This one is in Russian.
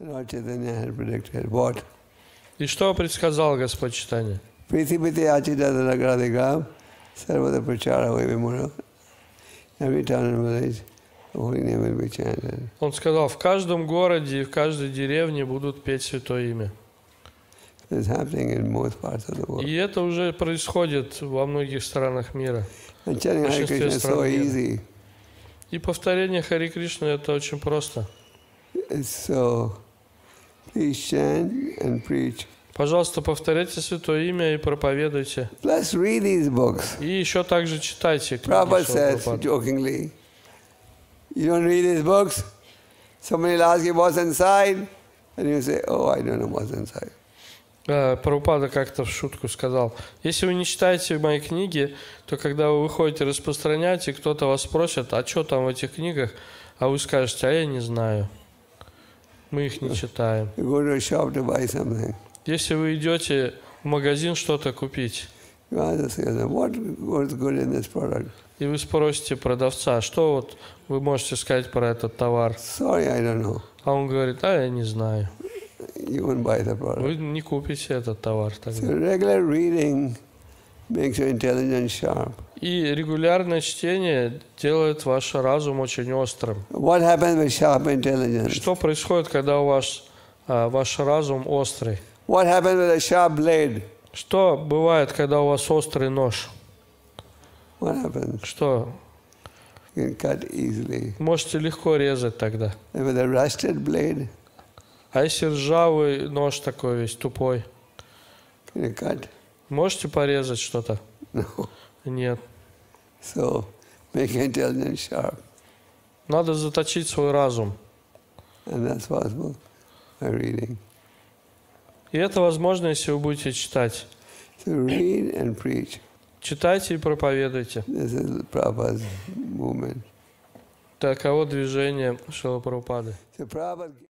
Lord Chaitanya had predicted what? И что предсказал Господь Чайтанья? Prithipiti achita nagradikam sarvada prachara vimura. Every town and village, the holy name will be chanted. Он сказал, в каждом городе и в каждой деревне будут петь Святое Имя. It's happening in most parts of the world. И это уже происходит во многих странах мира. And chanting Hare Krishna is so easy. И повторение Хари Кришны это очень просто. It's so, please chant and preach. Пожалуйста, повторяйте Святое Имя и проповедуйте. Plus read these books. И еще также читайте книги Prabhupada Шрила says Прабхупады. jokingly, you don't read these books? Somebody will ask you what's inside, and you say, oh, I don't know what's inside. Прабхупада как-то в шутку сказал, если вы не читаете мои книги, то когда вы выходите распространять, и кто-то вас спросит, а что там в этих книгах, а вы скажете, а я не знаю, мы их не читаем. You go to a shop to buy something. Если вы идете в магазин что-то купить, You ask the salesman, what's good in this product? и вы спросите продавца, что вот вы можете сказать про этот товар, Sorry, I don't know. а он говорит, а я не знаю. You won't buy the product. Вы не купите этот товар So тогда. regular reading makes your intelligence sharp. И регулярное чтение делает ваш разум очень острым. What happens with sharp intelligence? Что происходит, когда у вас ваш разум острый? What happens with a sharp blade? Что бывает, когда у вас острый нож? What happens? Что? You can cut easily. Можете легко резать тогда. And with a rusted blade, А если ржавый нож такой весь тупой, can you cut? можете порезать что-то? No. Нет. So make your intelligence sharp. Надо заточить свой разум. And that's possible by reading. И это возможно, если вы будете читать. So read and preach. Читайте и проповедуйте. This is Prabhupada's movement. Таково движение Шрилы Прабхупады. So Prabhupada